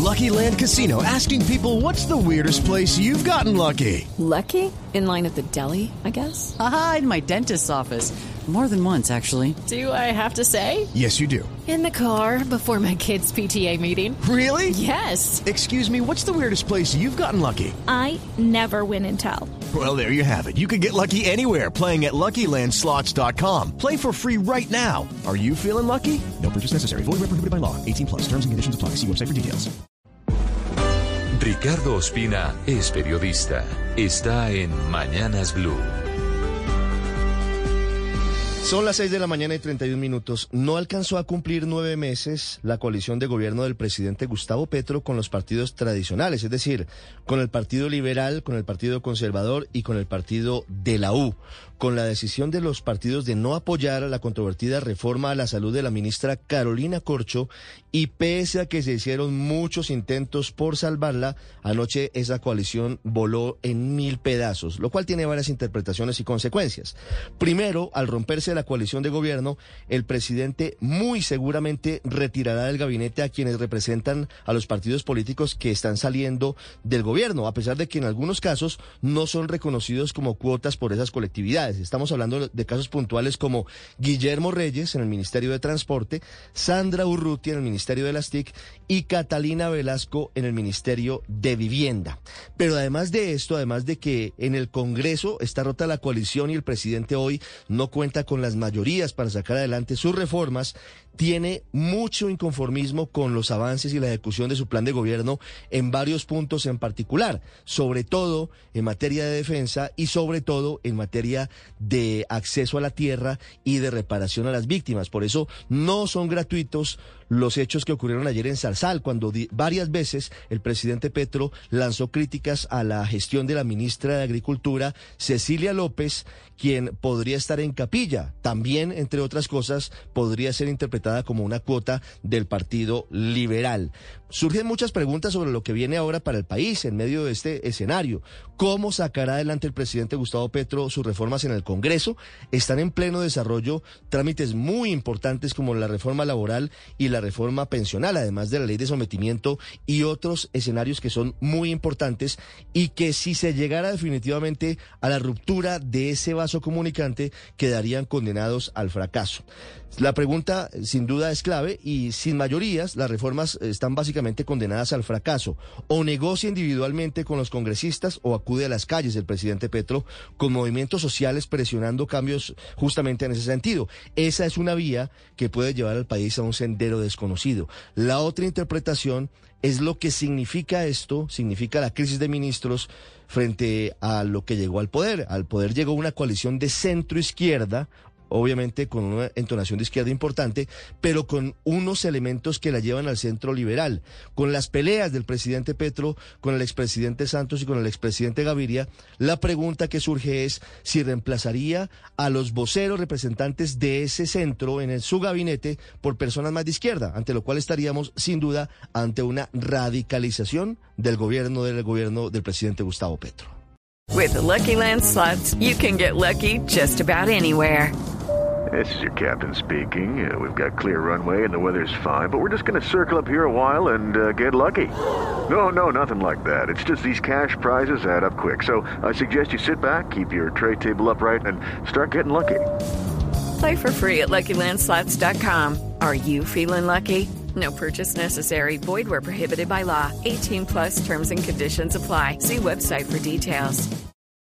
Lucky Land Casino, asking people, what's the weirdest place you've gotten lucky? Lucky? In line at the deli, I guess? Aha, in my dentist's office. More than once, actually. Do I have to say? Yes, you do. In the car before my kids' PTA meeting. Really? Yes. Excuse me, what's the weirdest place you've gotten lucky? I never win and tell. Well, there you have it. You can get lucky anywhere, playing at LuckyLandSlots.com. Play for free right now. Are you feeling lucky? No purchase necessary. Void where prohibited by law. 18+. Terms and conditions apply. See website for details. Ricardo Ospina es periodista. Está en Mañanas Blue. Son las 6 de la mañana y 31 minutos. No alcanzó a cumplir 9 meses la coalición de gobierno del presidente Gustavo Petro con los partidos tradicionales, es decir, con el Partido Liberal, con el Partido Conservador y con el Partido de la U. Con la decisión de los partidos de no apoyar la controvertida reforma a la salud de la ministra Carolina Corcho, y pese a que se hicieron muchos intentos por salvarla, anoche esa coalición voló en 1000 pedazos, lo cual tiene varias interpretaciones y consecuencias. Primero, al romperse la coalición de gobierno, el presidente muy seguramente retirará del gabinete a quienes representan a los partidos políticos que están saliendo del gobierno, a pesar de que en algunos casos no son reconocidos como cuotas por esas colectividades. Estamos hablando de casos puntuales como Guillermo Reyes en el Ministerio de Transporte, Sandra Urrutia en el Ministerio de las TIC y Catalina Velasco en el Ministerio de Vivienda. Pero además de esto, además de que en el Congreso está rota la coalición y el presidente hoy no cuenta con las mayorías para sacar adelante sus reformas, tiene mucho inconformismo con los avances y la ejecución de su plan de gobierno en varios puntos en particular, sobre todo en materia de defensa y sobre todo en materia de acceso a la tierra y de reparación a las víctimas. Por eso no son gratuitos los hechos que ocurrieron ayer en Zarzal, cuando varias veces el presidente Petro lanzó críticas a la gestión de la ministra de Agricultura, Cecilia López, quien podría estar en capilla. También, entre otras cosas, podría ser interpretada como una cuota del Partido Liberal. Surgen muchas preguntas sobre lo que viene ahora para el país en medio de este escenario. ¿Cómo sacará adelante el presidente Gustavo Petro sus reformas en el Congreso? Están en pleno desarrollo trámites muy importantes como la reforma laboral y la reforma pensional, además de la ley de sometimiento y otros escenarios que son muy importantes y que si se llegara definitivamente a la ruptura de ese vaso comunicante quedarían condenados al fracaso. La pregunta sin duda es clave y sin mayorías las reformas están básicamente condenadas al fracaso. O negocia individualmente con los congresistas o acude a las calles el presidente Petro con movimientos sociales presionando cambios justamente en ese sentido. Esa es una vía que puede llevar al país a un sendero desconocido. La otra interpretación es lo que significa esto, significa la crisis de ministros frente a lo que llegó al poder. Al poder llegó una coalición de centro-izquierda, obviamente con una entonación de izquierda importante, pero con unos elementos que la llevan al centro liberal. Con las peleas del presidente Petro, con el expresidente Santos y con el expresidente Gaviria, la pregunta que surge es si reemplazaría a los voceros representantes de ese centro en su gabinete por personas más de izquierda, ante lo cual estaríamos sin duda ante una radicalización del gobierno del presidente Gustavo Petro. With the Lucky Land Slots, you can get lucky just about anywhere. This is your captain speaking. We've got clear runway and the weather's fine, but we're just going to circle up here a while and get lucky. No, nothing like that. It's just these cash prizes add up quick. So I suggest you sit back, keep your tray table upright, and start getting lucky. Play for free at LuckyLandSlots.com. Are you feeling lucky? No purchase necessary. Void where prohibited by law. 18+ terms and conditions apply. See website for details.